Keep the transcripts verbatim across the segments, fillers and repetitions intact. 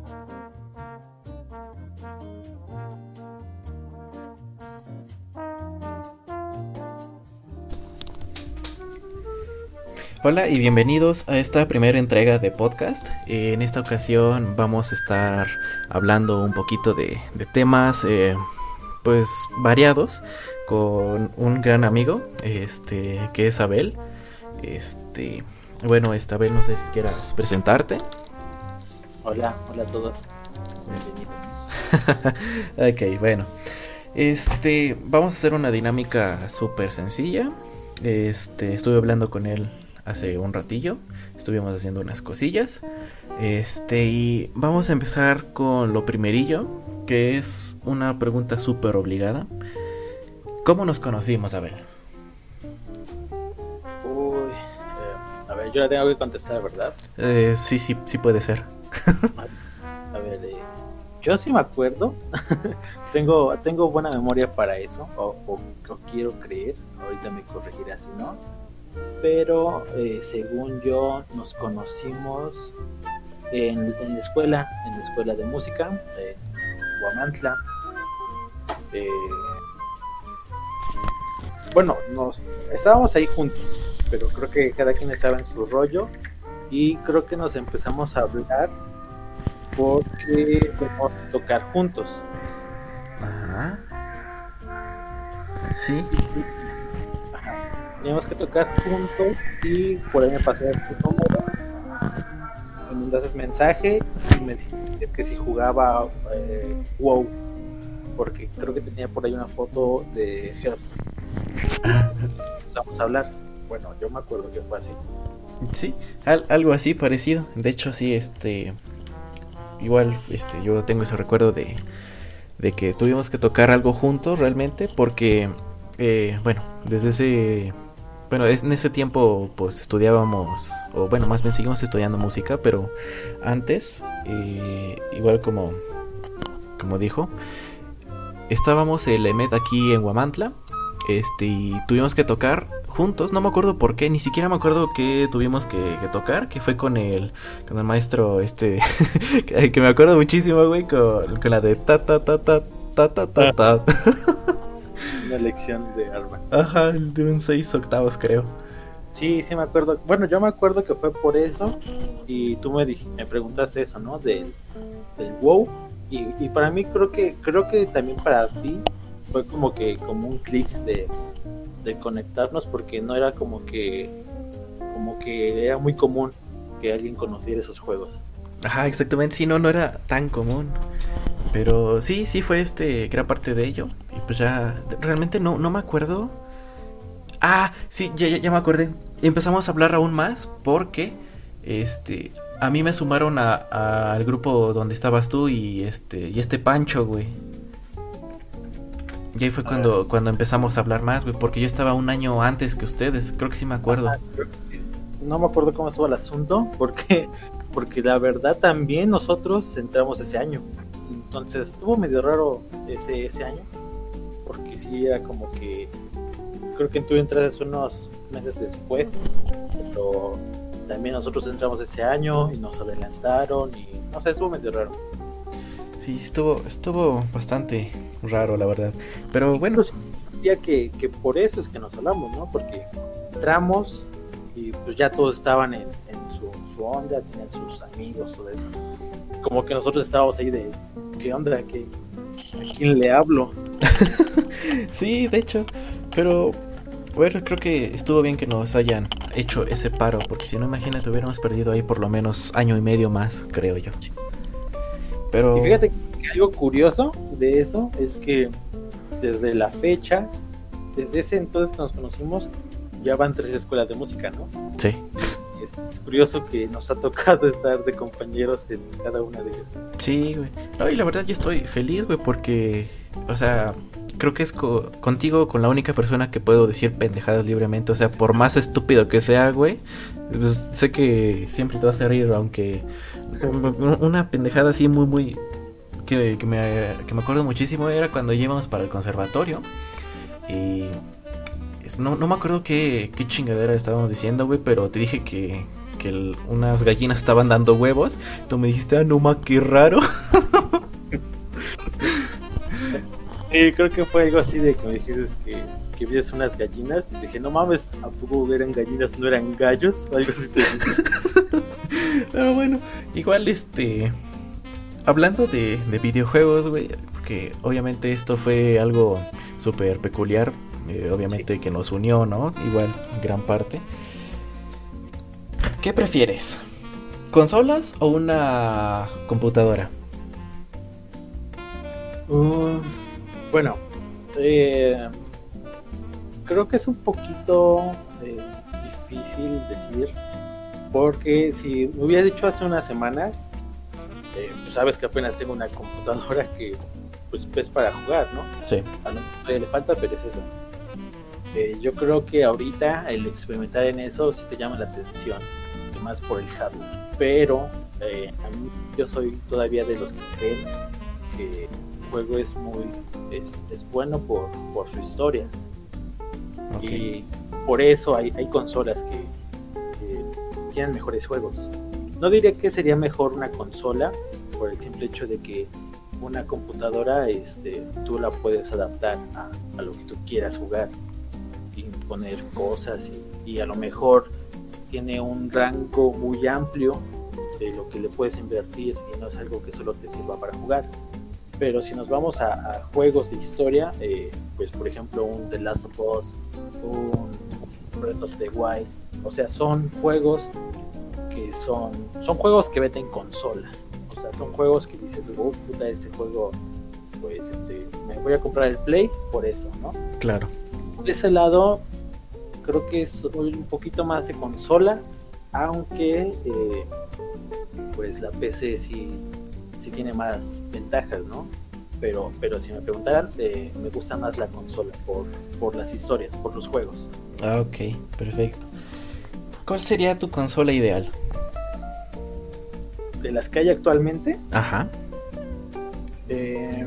Hola y bienvenidos a esta primera entrega de podcast. Eh, en esta ocasión vamos a estar hablando un poquito de, de temas eh, pues variados con un gran amigo, este que es Abel. Este, bueno, esta Abel, no sé si quieras presentarte. Hola, hola a todos. Bienvenidos. Ok, bueno. Este, vamos a hacer una dinámica súper sencilla. Este, estuve hablando con él hace un ratillo, estuvimos haciendo unas cosillas. Este, y vamos a empezar con lo primerillo, que es una pregunta súper obligada. ¿Cómo nos conocimos, Abel? Uy, eh, a ver, yo la tengo que contestar, ¿verdad? Eh, sí, sí, sí puede ser. A ver, eh, yo sí me acuerdo. tengo, tengo buena memoria para eso, o, o, o quiero creer. Ahorita me corregirá si no. Pero eh, según yo nos conocimos en, en la escuela, en la escuela de música de Huamantla. Eh, bueno, nos estábamos ahí juntos, pero creo que cada quien estaba en su rollo y creo que nos empezamos a hablar porque íbamos a tocar juntos. Ajá. Sí. Teníamos que tocar juntos y por ahí me pasaste tu número, me mandaste mensaje y me dijiste que si jugaba eh, WoW, porque creo que tenía por ahí una foto de Hearthstone. Vamos a hablar. Bueno, yo me acuerdo que fue así. Sí, al, algo así parecido. De hecho, sí, este, igual, este, yo tengo ese recuerdo de, de que tuvimos que tocar algo juntos realmente, porque, eh, bueno, desde ese Bueno, en ese tiempo pues estudiábamos, o bueno, más bien seguimos estudiando música, pero antes, eh, igual como, como dijo, estábamos el EMET aquí en Huamantla, este, y tuvimos que tocar juntos, no me acuerdo por qué, ni siquiera me acuerdo qué tuvimos que, que tocar, que fue con el, con el maestro, este, que, que me acuerdo muchísimo, güey, con, con la de ta ta ta ta ta ta ta ta. Una lección de arma. Ajá, de un seis octavos creo. Sí, sí me acuerdo. Bueno, yo me acuerdo que fue por eso y tú me dij- me preguntaste eso, ¿no? Del, del WoW y, y para mí creo que creo que también para ti fue como que como un clic de, de conectarnos porque no era como que como que era muy común que alguien conociera esos juegos. Ajá, exactamente, sí, no, no era tan común. Pero sí, sí fue este, gran parte de ello. Y pues ya, realmente no, no me acuerdo. Ah, sí, ya, ya, ya me acordé. Empezamos a hablar aún más porque, este, a mí me sumaron a, a- al grupo donde estabas tú y este, y este Pancho, güey. Y ahí fue A cuando, ver. cuando empezamos a hablar más, güey, porque yo estaba un año antes que ustedes, creo que sí me acuerdo. Ajá, creo que sí. No me acuerdo cómo estuvo el asunto porque porque la verdad también nosotros entramos ese año. Entonces estuvo medio raro ese ese año porque sí era como que creo que tú entraste unos meses después, pero también nosotros entramos ese año y nos adelantaron y no sé, estuvo medio raro. Sí, estuvo, estuvo bastante raro, la verdad. Pero bueno, Incluso diría que, que por eso es que nos hablamos, ¿no? Porque entramos y pues ya todos estaban en, en su, su onda, tenían sus amigos, todo eso. Como que nosotros estábamos ahí de, ¿qué onda? ¿Qué, ¿A quién le hablo? sí, de hecho. Pero bueno, creo que estuvo bien que nos hayan hecho ese paro, porque si no, imagínate, hubiéramos perdido ahí por lo menos año y medio más, creo yo. Pero Y fíjate que algo curioso de eso es que desde la fecha, desde ese entonces que nos conocimos, ya van tres escuelas de música, ¿no? sí, Y es, es curioso que nos ha tocado estar de compañeros en cada una de ellas. sí, güey. No, y la verdad yo estoy feliz, güey, porque, o sea, creo que es co- contigo con la única persona que puedo decir pendejadas libremente. O sea, por más estúpido que sea, güey, pues, sé que siempre te vas a reír, aunque una pendejada así muy, muy... Que, que, me, que me acuerdo muchísimo era cuando íbamos para el conservatorio. Y no, no me acuerdo qué, qué chingadera estábamos diciendo, güey, pero te dije que, que el, unas gallinas estaban dando huevos. Tú me dijiste, ah, no ma, qué raro. Sí, creo que fue algo así de que me dijiste que, que vieras unas gallinas. Y dije, no mames, ¿a poco eran gallinas, no eran gallos? Algo así te dije. Pero bueno, igual este... Hablando de, de videojuegos, güey, porque obviamente esto fue algo súper peculiar, eh, obviamente sí. Que nos unió, ¿no? Igual, gran parte. ¿Qué prefieres? ¿Consolas o una computadora? Uh, bueno, eh, creo que es un poquito eh, difícil decir, porque si me hubiera dicho hace unas semanas, eh, pues sabes que apenas tengo una computadora que pues es para jugar, ¿no? Sí. A no le falta, pero es eso. Eh, yo creo que ahorita el experimentar en eso sí te llama la atención, más por el hardware, pero eh, a mí yo soy todavía de los que creen que el juego es muy es, es bueno por, por su historia. Okay. Y por eso hay, hay consolas que, que tienen mejores juegos. No diría que sería mejor una consola por el simple hecho de que una computadora este, tú la puedes adaptar a, a lo que tú quieras jugar y poner cosas y, y a lo mejor tiene un rango muy amplio de lo que le puedes invertir y no es algo que solo te sirva para jugar. Pero si nos vamos a, a juegos de historia, eh, pues por ejemplo un The Last of Us, un Breath of the Wild, o sea, son juegos que son son juegos que venden consolas, o sea, son juegos que dices, oh puta, este juego, pues este, me voy a comprar el Play por eso, ¿no? Claro. De ese lado creo que es un poquito más de consola, aunque eh, pues la P C sí, sí tiene más ventajas, ¿no? Pero, pero si me preguntaran, eh, me gusta más la consola por, por las historias, por los juegos. Ah, ok, perfecto. ¿Cuál sería tu consola ideal? ¿De las que hay actualmente? Ajá. Eh,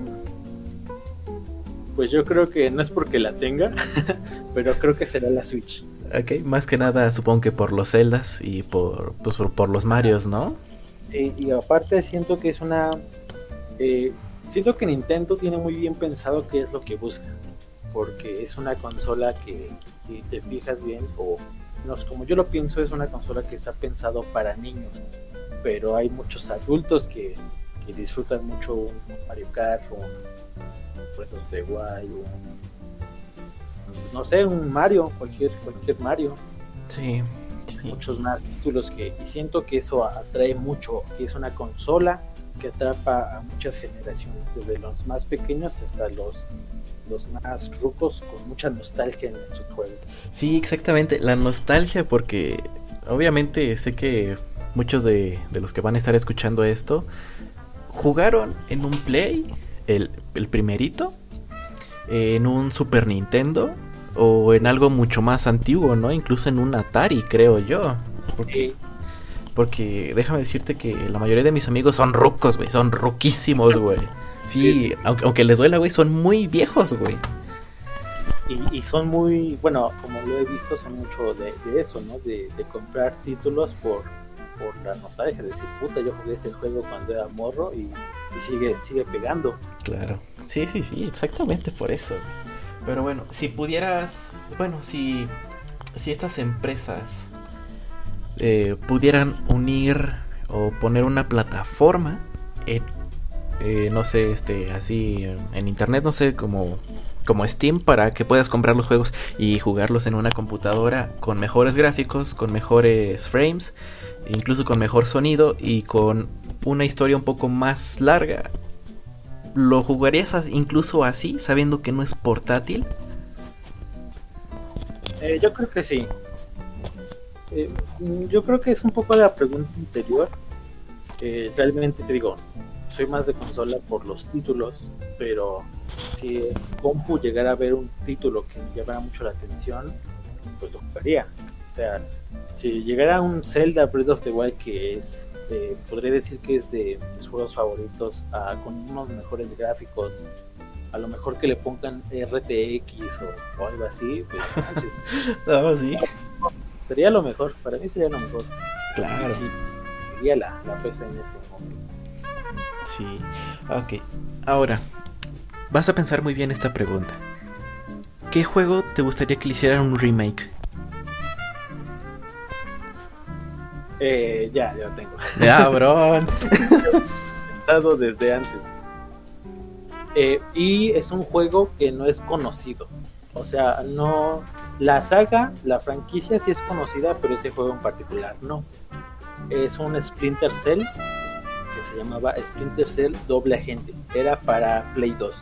pues yo creo que no es porque la tenga, pero creo que será la Switch. Ok, más que nada supongo que por los Zeldas y por, pues, por, por los Marios, ¿no? Eh, y aparte siento que es una... Eh, siento que Nintendo tiene muy bien pensado qué es lo que busca, porque es una consola que, si te fijas bien, o no, como yo lo pienso, es una consola que está pensado para niños, pero hay muchos adultos que, que disfrutan mucho un Mario Kart, un Breath of the Wild, un, no sé, un Mario, cualquier cualquier Mario. Sí, sí. Muchos más títulos que, y siento que eso atrae mucho, que es una consola que atrapa a muchas generaciones, desde los más pequeños hasta los los más rucos con mucha nostalgia en sus juegos. Sí, exactamente, la nostalgia, porque obviamente sé que muchos de, de los que van a estar escuchando esto jugaron en un Play, el, el primerito, en un Super Nintendo o en algo mucho más antiguo, ¿no? Incluso en un Atari, creo yo. Porque, sí. porque déjame decirte que la mayoría de mis amigos son rucos, güey, son ruquísimos, güey. Sí, aunque, aunque les duela, güey, son muy viejos, güey. Y, y son muy, bueno, como lo he visto, son mucho de, de eso, ¿no? De, de comprar títulos por, por la nostalgia, de decir, puta, yo jugué este juego cuando era morro y, y sigue, sigue pegando. Claro, sí, sí, sí, exactamente por eso, güey. Pero bueno, si pudieras, bueno, si, si estas empresas eh, pudieran unir o poner una plataforma en Eh, no sé, este, así en internet, no sé, como, como Steam, para que puedas comprar los juegos y jugarlos en una computadora con mejores gráficos, con mejores frames, incluso con mejor sonido y con una historia un poco más larga. ¿Lo jugarías incluso así, sabiendo que no es portátil? Eh, yo creo que sí. Eh, yo creo que es un poco la pregunta anterior. Eh, realmente te digo, soy más de consola por los títulos, pero si en compu llegara a ver un título que me llamara mucho la atención, pues lo jugaría. O sea, si llegara un Zelda Breath of the Wild, que es, eh, podría decir que es de mis juegos favoritos, uh, con unos mejores gráficos, a lo mejor que le pongan R T X o, o algo así, pues, no, sí. sería lo mejor, para mí sería lo mejor. Claro. Sí, sería la, la P C en ese momento. Sí, ok. Ahora, vas a pensar muy bien esta pregunta. ¿Qué juego te gustaría que le hicieran un remake? Eh, ya, ya lo tengo. ¡Cabrón! Pensado desde antes. Eh, y es un juego que no es conocido. O sea, no. La saga, la franquicia sí es conocida, pero ese juego en particular no. Es un Splinter Cell que se llamaba Splinter Cell Doble Agente. Era para Play dos.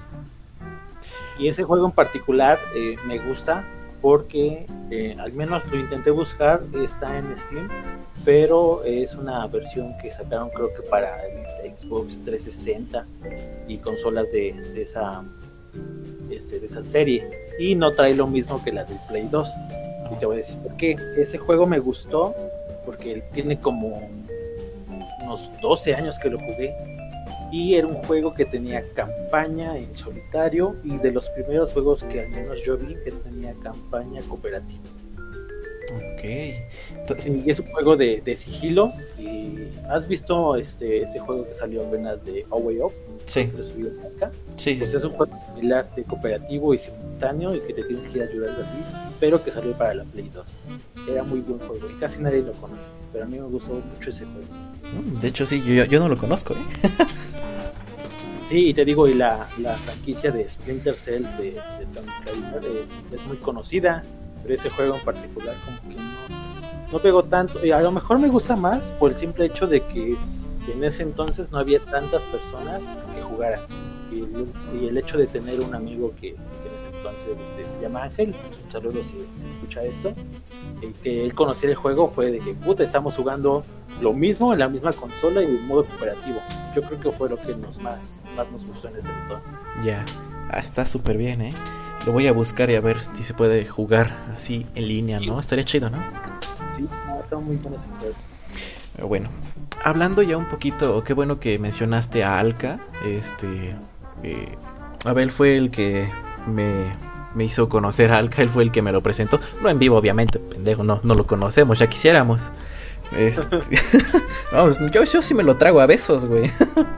Y ese juego en particular eh, me gusta porque eh, al menos lo intenté buscar, está en Steam, pero es una versión que sacaron creo que para el Xbox trescientos sesenta y consolas de, de esa este, de esa serie, y no trae lo mismo que la del Play dos. Y te voy a decir por qué. Ese juego me gustó porque él tiene como unos doce años que lo jugué, y era un juego que tenía campaña en solitario, y de los primeros juegos que al menos yo vi que tenía campaña cooperativa. Ok. Entonces, sí, es un juego de, de sigilo. ¿Y has visto este, este juego que salió apenas de A Way Up? Sí. Lo subí acá. Sí. Pues es un juego similar de cooperativo y simultáneo, y que te tienes que ir ayudando así, pero que salió para la Play dos. Era muy buen juego y casi nadie lo conoce, pero a mí me gustó mucho ese juego. De hecho, sí, yo, yo no lo conozco, ¿eh? Sí, y te digo, y la, la franquicia de Splinter Cell de, de Tommy Caliber es, es muy conocida, pero ese juego en particular como que no, no pegó tanto. Y a lo mejor me gusta más por el simple hecho de que en ese entonces no había tantas personas que jugaran. Y el, y el hecho de tener un amigo que, que en ese entonces este, se llama Ángel, un saludo si, si escucha esto, y que él conocía el juego, fue de que puta, estamos jugando lo mismo en la misma consola y en modo cooperativo. Yo creo que fue lo que nos más, más nos gustó en ese entonces. Ya, ah, está súper bien, ¿eh? Lo voy a buscar y a ver si se puede jugar así en línea, ¿no? Estaría chido, ¿no? Sí, no, está muy bueno ese juego. Pero bueno, hablando ya un poquito, qué bueno que mencionaste a Alka. Este, eh, Abel fue el que me, me hizo conocer a Alka, él fue el que me lo presentó. No en vivo, obviamente, pendejo, no, no lo conocemos, ya quisiéramos. Este, no, yo, yo sí me lo trago a besos, güey.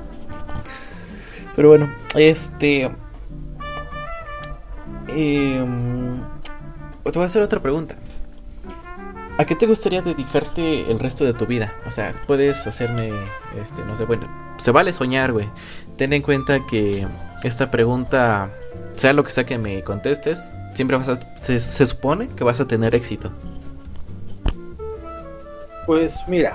Pero bueno, este... Eh, te voy a hacer otra pregunta. ¿A qué te gustaría dedicarte el resto de tu vida? O sea, puedes hacerme, este, no sé, bueno, se vale soñar, güey. Ten en cuenta que esta pregunta, sea lo que sea que me contestes, siempre vas a, se, se supone que vas a tener éxito. Pues mira,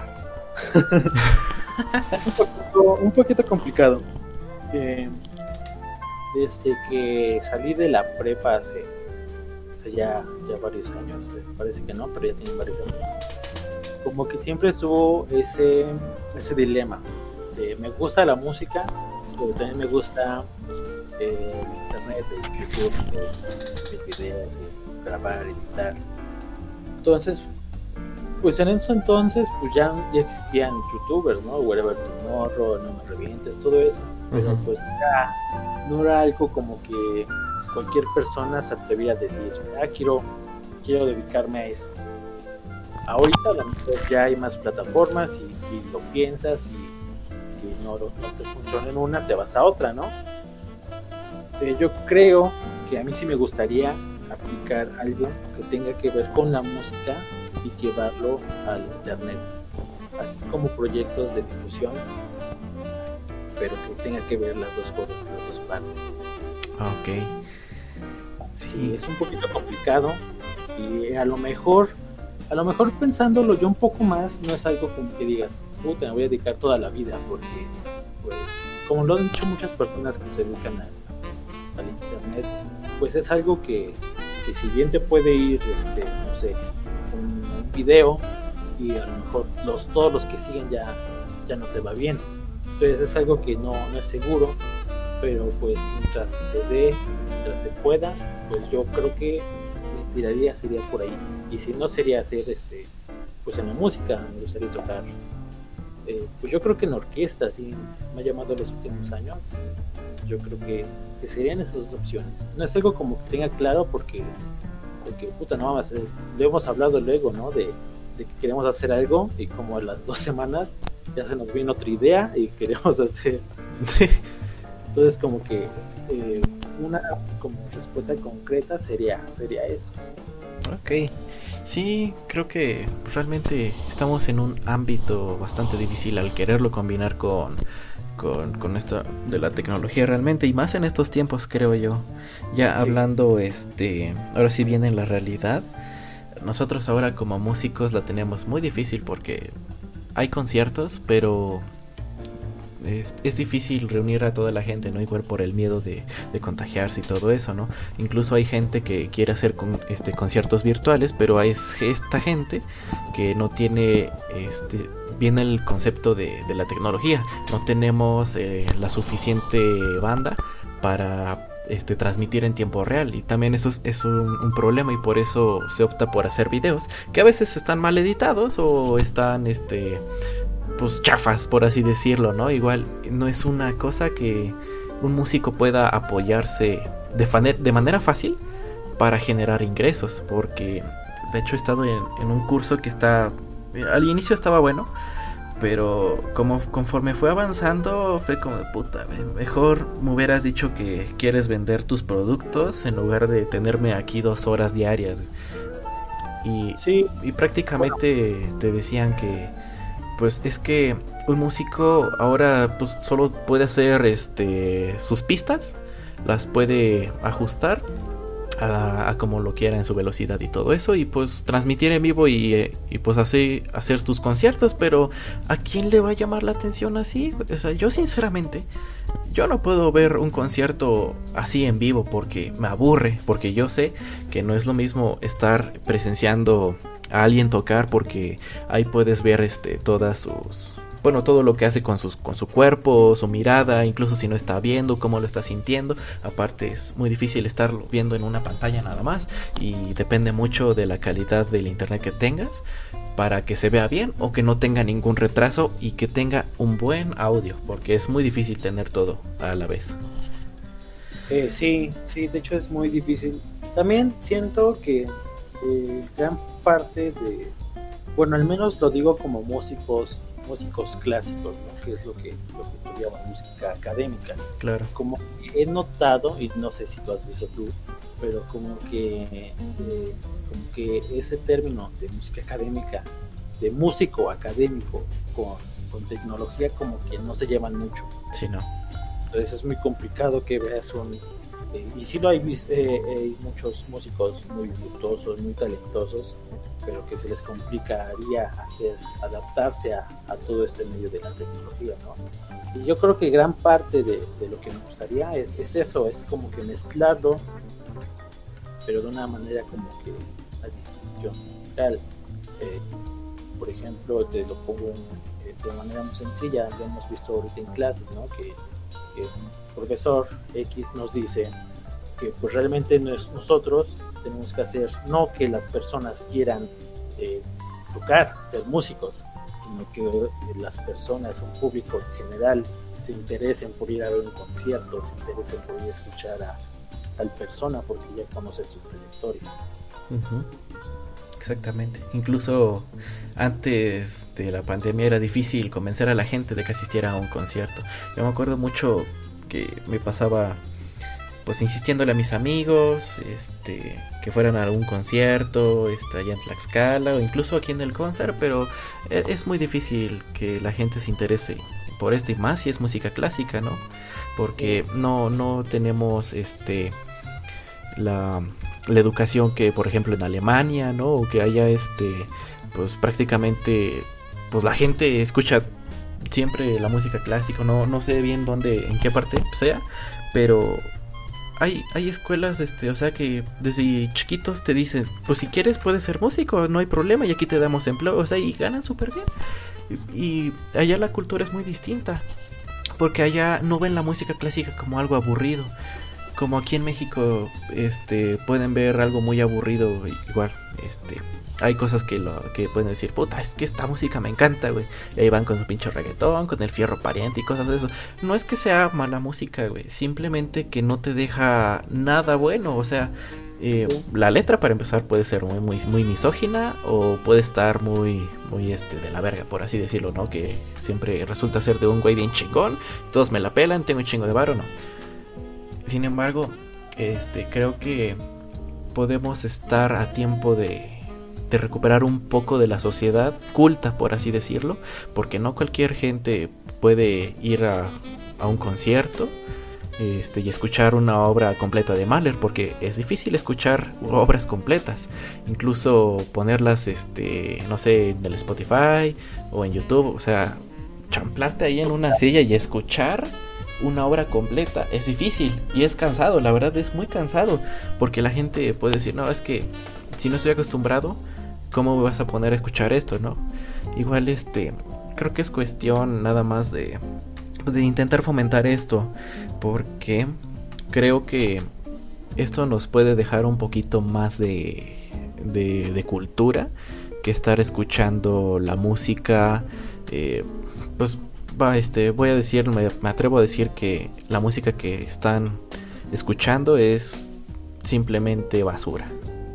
es un poquito, un poquito complicado. Eh, desde que salí de la prepa hace, hace ya, ya varios años, eh, parece que no, pero ya tiene varios años, como que siempre estuvo ese, ese dilema de me gusta la música, pero también me gusta eh, el internet, el YouTube, el subir videos, el grabar, editar. Entonces, pues en ese entonces pues ya, ya existían youtubers, ¿no? Wherever Tomorrow, No Me Revientes, todo eso. Pero uh-huh. pues ya no era algo como que cualquier persona se atrevía a decir, ah, quiero, quiero dedicarme a eso. Ahorita a lo mejor ya hay más plataformas y, y lo piensas, y, y no, no te funciona en una, te vas a otra, ¿no? Eh, yo creo que a mí sí me gustaría aplicar algo que tenga que ver con la música y llevarlo al internet, así como proyectos de difusión, pero que tenga que ver las dos cosas, las dos partes. Ok. Sí, sí, es un poquito complicado, y a lo mejor a lo mejor pensándolo yo un poco más, no es algo como que digas, puta, me voy a dedicar toda la vida, porque pues como lo han dicho muchas personas que se dedican a, al internet, pues es algo que, que si bien te puede ir, este, no sé, un, un video, y a lo mejor los, todos los que siguen ya, ya no te va bien. Entonces es algo que no, no es seguro, pero pues mientras se dé, mientras se pueda, pues yo creo que me tiraría, sería por ahí. Y si no, sería hacer, este, pues en la música, me gustaría tocar, eh, pues yo creo que en orquesta, sí, me ha llamado los últimos años. Yo creo que, que serían esas dos opciones. No es algo como que tenga claro, porque, porque puta, no vamos a hacer, lo hemos hablado luego, ¿no? De de que queremos hacer algo y como a las dos semanas ya se nos viene otra idea y queremos hacer. Entonces como que eh, una como respuesta concreta sería sería eso. Ok, sí, creo que realmente estamos en un ámbito bastante difícil al quererlo combinar con, con, con esto de la tecnología realmente, y más en estos tiempos, creo yo. Ya sí. Hablando, este, ahora sí viene la realidad. Nosotros ahora como músicos la tenemos muy difícil porque hay conciertos, pero es, es difícil reunir a toda la gente, ¿no? Igual por el miedo de, de contagiarse y todo eso, ¿no? Incluso hay gente que quiere hacer con, este, conciertos virtuales, pero hay esta gente que no tiene este, bien el concepto de, de la tecnología. No tenemos eh, la suficiente banda para este, transmitir en tiempo real, y también eso es, es un, un problema, y por eso se opta por hacer videos que a veces están mal editados o están este pues chafas, por así decirlo, ¿no? Igual no es una cosa que un músico pueda apoyarse de, faner, de manera fácil para generar ingresos, porque de hecho he estado en, en un curso que está, al inicio estaba bueno, pero como conforme fue avanzando fue como de puta, mejor me hubieras dicho que quieres vender tus productos en lugar de tenerme aquí dos horas diarias. Y, sí. y prácticamente bueno. te decían que pues es que un músico ahora pues solo puede hacer este sus pistas, las puede ajustar a, a como lo quiera en su velocidad y todo eso, y pues transmitir en vivo y, y pues así hacer tus conciertos, pero ¿a quién le va a llamar la atención así? O sea, yo sinceramente yo no puedo ver un concierto así en vivo porque me aburre, porque yo sé que no es lo mismo estar presenciando a alguien tocar, porque ahí puedes ver este todas sus bueno, todo lo que hace con sus con su cuerpo, su mirada, incluso si no está viendo, cómo lo está sintiendo. Aparte es muy difícil estarlo viendo en una pantalla nada más, y depende mucho de la calidad del internet que tengas para que se vea bien o que no tenga ningún retraso y que tenga un buen audio, porque es muy difícil tener todo a la vez. Eh, sí, sí, de hecho es muy difícil. También siento que eh, gran parte de, bueno, al menos lo digo como músicos, músicos clásicos, ¿no? Que es lo que, lo que tú llamas música académica. Claro. Como he notado, y no sé si lo has visto tú, pero como que, eh, como que ese término de música académica, de músico académico con, con tecnología, como que no se llevan mucho. Sí, no. Entonces es muy complicado que veas un... Eh, y sí lo hay, eh, hay muchos músicos muy virtuosos, muy talentosos, pero que se les complicaría hacer, adaptarse a, a todo este medio de la tecnología, ¿no? Y yo creo que gran parte de, de lo que me gustaría es, es eso, es como que mezclarlo, pero de una manera como que yo, tal, eh, por ejemplo, te lo pongo eh, de manera muy sencilla, lo hemos visto ahorita en clases, ¿no? Que, que un profesor X nos dice que pues realmente no es nosotros tenemos que hacer, no que las personas quieran eh, tocar, ser músicos, sino que las personas, un público en general, se interesen por ir a ver un concierto, se interesen por ir a escuchar a tal persona porque ya conocen su trayectoria. Uh-huh. Exactamente. Incluso antes de la pandemia era difícil convencer a la gente de que asistiera a un concierto. Yo me acuerdo mucho que me pasaba pues insistiéndole a mis amigos este que fueran a algún concierto este, allá en Tlaxcala o incluso aquí en el concert, pero es muy difícil que la gente se interese por esto, y más si es música clásica, ¿no? Porque no, no tenemos este la, la educación que por ejemplo en Alemania, ¿no? O que haya este pues prácticamente pues la gente escucha siempre la música clásica, no, no sé bien dónde, en qué parte sea, pero hay, hay escuelas, este, o sea que desde chiquitos te dicen, pues si quieres puedes ser músico, no hay problema, y aquí te damos empleo, o sea, y ganan súper bien. Y, y allá la cultura es muy distinta, porque allá no ven la música clásica como algo aburrido, como aquí en México, este, pueden ver algo muy aburrido, igual, este... hay cosas que lo que pueden decir, puta, es que esta música me encanta, güey. Y ahí van con su pinche reggaetón, con el fierro pariente y cosas de eso. No es que sea mala música, güey. Simplemente que no te deja nada bueno. O sea, Eh, la letra, para empezar, puede ser muy, muy, muy misógina o puede estar muy, muy este, de la verga, por así decirlo, ¿no? Que siempre resulta ser de un güey bien chingón, todos me la pelan, tengo un chingo de varo, ¿no? Sin embargo, este, creo que podemos estar a tiempo de, de recuperar un poco de la sociedad culta, por así decirlo, porque no cualquier gente puede ir a, a un concierto Este, y escuchar una obra completa de Mahler, porque es difícil escuchar obras completas, incluso ponerlas, este, no sé, en el Spotify o en YouTube, o sea, champlarte ahí en una silla y escuchar una obra completa, es difícil y es cansado, la verdad es muy cansado, porque la gente puede decir, no, es que si no estoy acostumbrado, ¿cómo me vas a poner a escuchar esto, no? Igual, este, creo que es cuestión nada más de de intentar fomentar esto, porque creo que esto nos puede dejar un poquito más de, de, de cultura que estar escuchando la música. Eh, pues va, este, voy a decir, me, me atrevo a decir que la música que están escuchando es simplemente basura.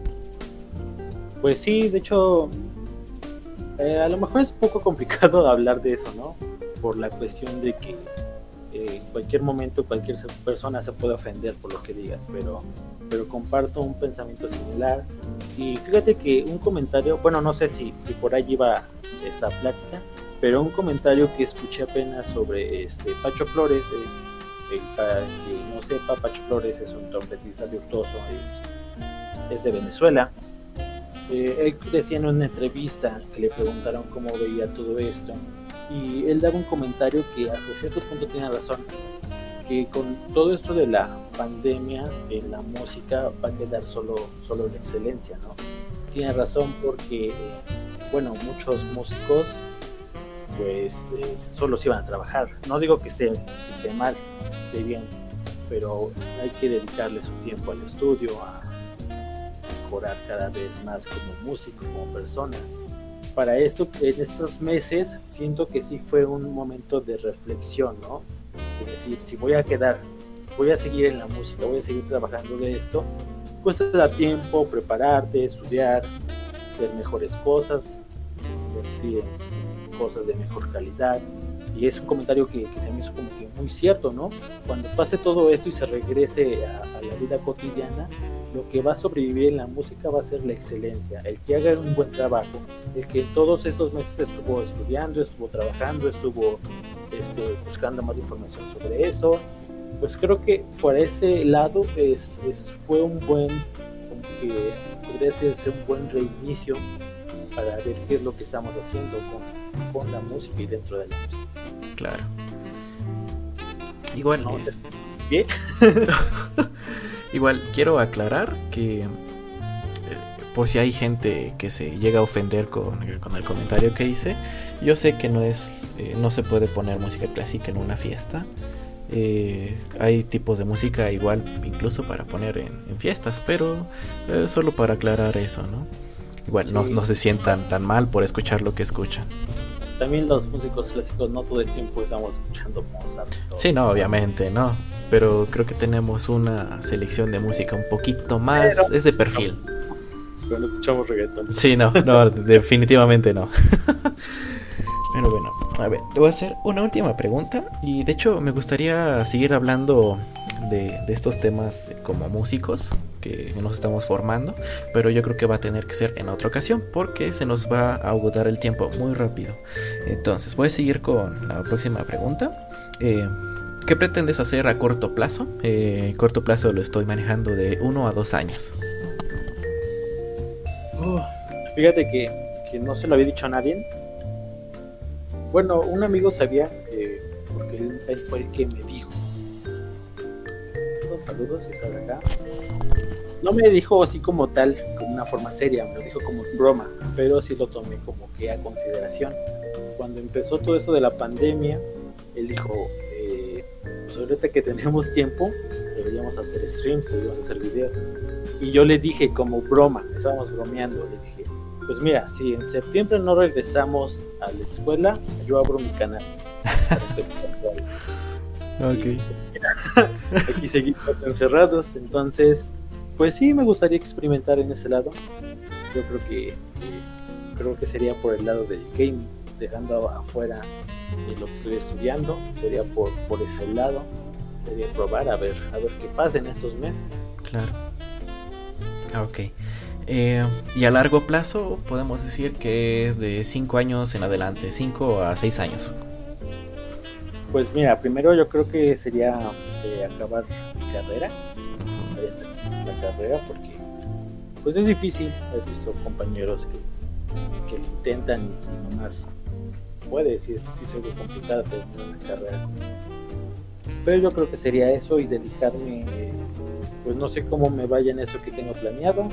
Pues sí, de hecho, eh, a lo mejor es un poco complicado hablar de eso, ¿no? Por la cuestión de que eh, en cualquier momento cualquier persona se puede ofender por lo que digas, pero, pero comparto un pensamiento similar. Y fíjate que un comentario, bueno, no sé si, si por ahí iba esta plática, pero un comentario que escuché apenas sobre este Pacho Flores, eh, eh, para que no sepa, Pacho Flores es un trompetista virtuoso, es, es de Venezuela. Eh, él decía en una entrevista que le preguntaron cómo veía todo esto, y él daba un comentario que hasta cierto punto tiene razón, que con todo esto de la pandemia en la música va a quedar solo, solo la excelencia, ¿no? Tiene razón porque, bueno, muchos músicos pues eh, solo se iban a trabajar. No digo que esté, que esté mal, esté bien, pero hay que dedicarle su tiempo al estudio, a mejorar cada vez más como músico, como persona. Para esto, en estos meses, siento que sí fue un momento de reflexión, ¿no? Es decir, si voy a quedar, voy a seguir en la música, voy a seguir trabajando de esto, pues te da tiempo prepararte, estudiar, hacer mejores cosas, invertir en cosas de mejor calidad. Y es un comentario que, que se me hizo como que muy cierto, ¿no? Cuando pase todo esto y se regrese a, a la vida cotidiana, lo que va a sobrevivir en la música va a ser la excelencia, el que haga un buen trabajo, el que todos estos meses estuvo estudiando, estuvo trabajando, estuvo este, buscando más información sobre eso. Pues creo que por ese lado es, es, fue un buen, como que podría ser, ser un buen reinicio para ver qué es lo que estamos haciendo con, con la música y dentro de la música. Claro. Igual no, es... ¿Bien? Igual quiero aclarar que eh, por si hay gente que se llega a ofender con, con el comentario que hice, yo sé que no es eh, no se puede poner música clásica en una fiesta. Eh, hay tipos de música igual incluso para poner en, en fiestas, pero eh, solo para aclarar eso, ¿no? Igual sí. no, no se sientan tan mal por escuchar lo que escuchan. También los músicos clásicos no todo el tiempo estamos escuchando Mozart. Sí, no, obviamente, no. Pero creo que tenemos una selección de música un poquito más... Pero, es de perfil. No, pero no escuchamos reggaetón. Sí, no, no, definitivamente no. Pero bueno, a ver, le voy a hacer una última pregunta. Y de hecho me gustaría seguir hablando de, de estos temas como músicos que nos estamos formando, pero yo creo que va a tener que ser en otra ocasión porque se nos va a agotar el tiempo muy rápido. Entonces voy a seguir con la próxima pregunta. eh, ¿Qué pretendes hacer a corto plazo? Eh, corto plazo lo estoy manejando de uno a dos años. Uh, fíjate que, que no se lo había dicho a nadie. Bueno, un amigo sabía, eh, porque él, él fue el que me dijo. Saludos, si sale acá. No me dijo así como tal, como una forma seria, me lo dijo como broma, pero sí lo tomé como que a consideración. Cuando empezó todo esto de la pandemia, él dijo, eh, pues ahorita que tenemos tiempo, deberíamos hacer streams, deberíamos hacer videos. Y yo le dije como broma, estábamos bromeando, le dije, pues mira, si en septiembre no regresamos a la escuela, yo abro mi canal. Ok. Aquí seguimos encerrados, entonces Pues sí, me gustaría experimentar en ese lado. Yo creo que eh, creo que sería por el lado del gaming, dejando afuera eh, lo que estoy estudiando, sería por, por ese lado, sería probar a ver a ver qué pasa en estos meses. Claro. Ok. Eh, y a largo plazo podemos decir que es de cinco años en adelante, cinco a seis años. Pues mira, primero yo creo que sería eh, acabar mi carrera, uh-huh. la carrera, porque pues es difícil. He visto compañeros que, que intentan y nomás puede, si es, si es algo complicado terminar una carrera. Pero yo creo que sería eso y dedicarme, eh, pues no sé cómo me vaya en eso que tengo planeado.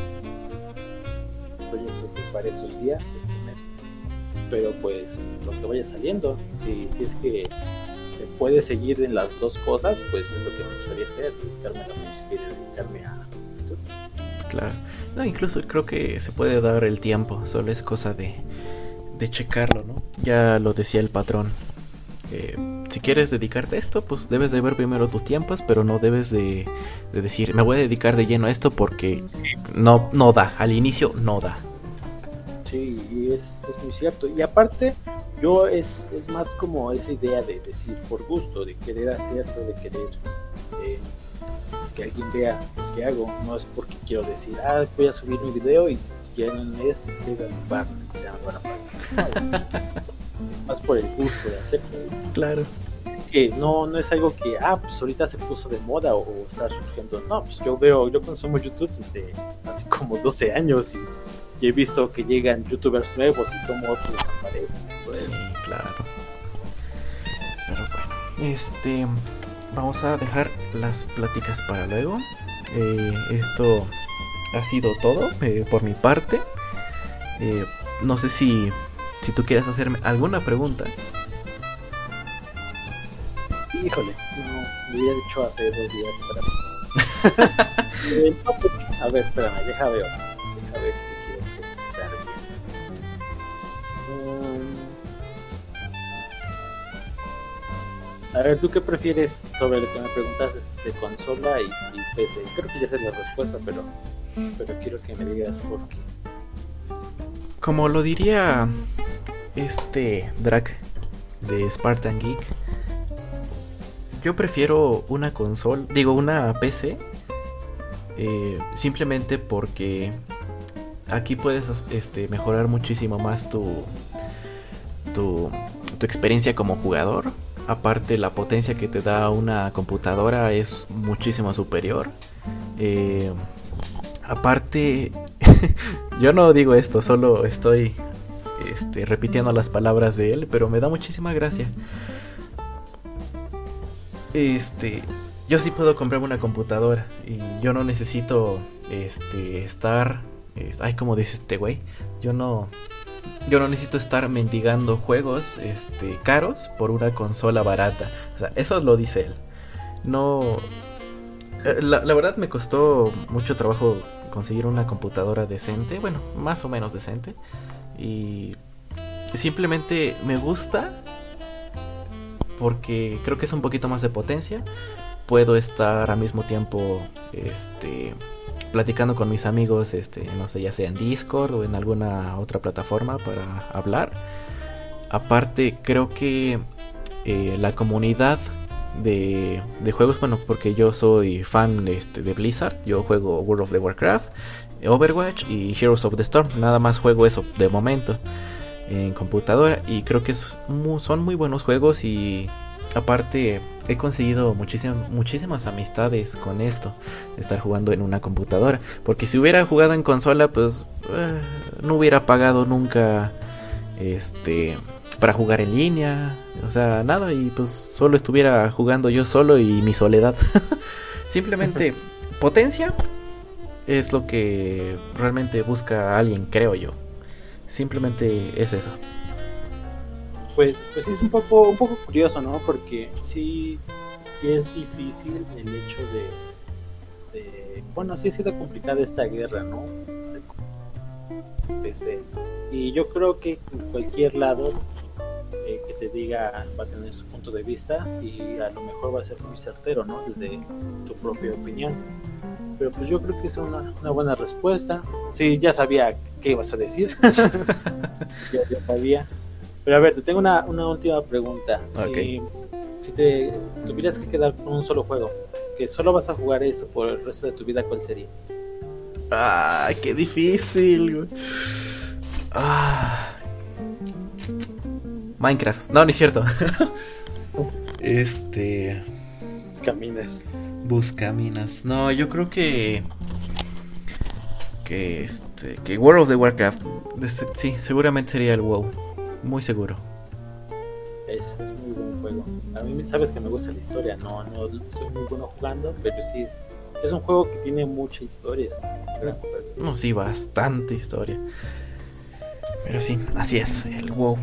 Pues yo creo que para esos días, este mes. Pero pues lo que vaya saliendo, si, si es que se puede seguir en las dos cosas, pues es lo que me gustaría hacer, dedicarme a la música y dedicarme a esto. Claro, no, incluso creo que se puede dar el tiempo, solo es cosa de, de checarlo, ¿no? Ya lo decía el patrón, eh, si quieres dedicarte a esto, pues debes de ver primero tus tiempos, pero no debes de, de decir, me voy a dedicar de lleno a esto porque no, no da, al inicio no da. Sí, y es, es muy cierto, y aparte yo es, es más como esa idea de decir por gusto, de querer hacerlo, de querer eh, que alguien vea lo que hago, no es porque quiero decir, ah, voy a subir mi video y ya en un mes llega a bar, ya me van a pagar. No, es más por el gusto de hacerlo. Claro. Que no, no es algo que, ah, pues ahorita se puso de moda o, o está surgiendo, no, pues yo veo, yo consumo YouTube desde hace como doce años y y he visto que llegan youtubers nuevos y como otros aparecen. Pues. Sí, claro. Pero bueno, este, vamos a dejar las pláticas para luego. Eh, esto ha sido todo eh, por mi parte. Eh, no sé si, si tú quieres hacerme alguna pregunta. Híjole, no, me había dicho hace dos días para pensar. eh, no, pues, a ver, espérame, deja ver. Deja ver. A ver, ¿tú qué prefieres sobre lo que me preguntaste de consola y, y P C? Creo que ya sé la respuesta, pero, pero quiero que me digas por qué. Como lo diría este Drac de Spartan Geek, yo prefiero una consola, digo una P C, eh, simplemente porque aquí puedes este, mejorar muchísimo más tu, tu, tu experiencia como jugador. Aparte, la potencia que te da una computadora es muchísimo superior. Eh, aparte, yo no digo esto, solo estoy este, repitiendo las palabras de él, pero me da muchísima gracia. Este, yo sí puedo comprarme una computadora y yo no necesito este, estar... Es, ay, como dice este güey, yo no... Yo no necesito estar mendigando juegos este, caros por una consola barata. O sea, eso lo dice él. No... La, la verdad me costó mucho trabajo conseguir una computadora decente. Bueno, más o menos decente. Y simplemente me gusta porque creo que es un poquito más de potencia. Puedo estar al mismo tiempo... Este... platicando con mis amigos, este, no sé, ya sea en Discord o en alguna otra plataforma para hablar. Aparte, creo que eh, la comunidad de, de juegos, bueno, porque yo soy fan este, de Blizzard, yo juego World of the Warcraft, Overwatch y Heroes of the Storm, nada más juego eso de momento en computadora y creo que son muy buenos juegos y aparte he conseguido muchísimas, muchísimas amistades con esto de estar jugando en una computadora, porque si hubiera jugado en consola pues uh, no hubiera pagado nunca este para jugar en línea, o sea, nada, y pues solo estuviera jugando yo solo y mi soledad. Simplemente potencia es lo que realmente busca alguien, creo yo. Simplemente es eso. Pues, pues sí es un poco, un poco curioso, ¿no? Porque sí, sí es difícil el hecho de, de... Bueno, sí ha sido complicada esta guerra, ¿no? De P C. Y yo creo que en cualquier lado, eh, que, que te diga va a tener su punto de vista y a lo mejor va a ser muy certero, ¿no? Desde tu propia opinión. Pero pues yo creo que es una, una buena respuesta. Sí, ya sabía qué ibas a decir. ya, ya sabía. Pero a ver, te tengo una, una última pregunta. Okay. Si, si te tuvieras que quedar con un solo juego, que solo vas a jugar eso por el resto de tu vida, ¿cuál sería? Ah, qué difícil, güey. Ah. Minecraft. No, ni es cierto. este. Caminas. Buscaminas. No, yo creo que. Que este. Que World of the Warcraft. Sí, seguramente sería el WoW. Muy seguro. Es, es muy buen juego. A mí, sabes que me gusta la historia. No, no soy muy bueno jugando, pero sí es. Es un juego que tiene mucha historia. No, sí, bastante historia. Pero sí, así es, el WoW.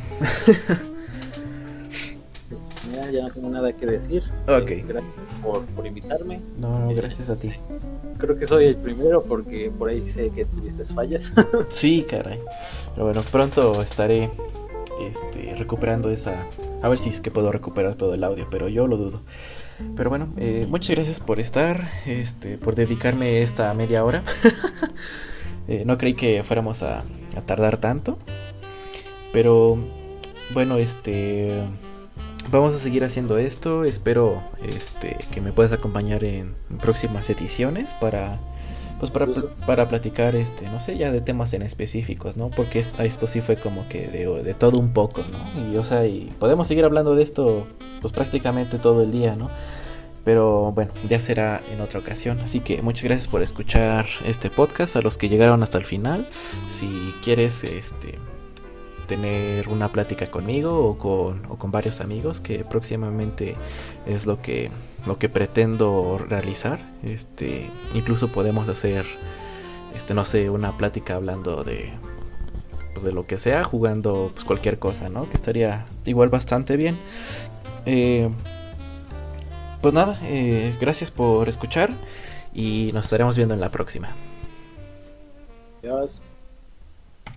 Mira, ya no tengo nada que decir. Ok. Eh, gracias por, por invitarme. No, no, Eh, gracias a ti. sí. Creo que soy el primero porque por ahí sé que tuviste fallas. Sí, caray. Pero bueno, pronto estaré este, recuperando esa... A ver si es que puedo recuperar todo el audio, pero yo lo dudo. Pero bueno, eh, muchas gracias por estar, este, por dedicarme esta media hora. eh, no creí que fuéramos a, a tardar tanto. Pero bueno, este... Vamos a seguir haciendo esto. Espero este, que me puedas acompañar en próximas ediciones para... Pues para, para platicar, este, no sé, ya de temas en específicos, ¿no? Porque esto, esto sí fue como que de, de todo un poco, ¿no? Y, o sea, y podemos seguir hablando de esto, pues prácticamente todo el día, ¿no? Pero bueno, ya será en otra ocasión. Así que muchas gracias por escuchar este podcast. A los que llegaron hasta el final, si quieres, este... tener una plática conmigo o con, o con varios amigos, que próximamente es lo que lo que pretendo realizar. Este, incluso podemos hacer este no sé, una plática hablando de pues de lo que sea, jugando pues cualquier cosa, ¿no? Que estaría igual bastante bien. Eh, pues nada, eh, gracias por escuchar y nos estaremos viendo en la próxima. Adiós.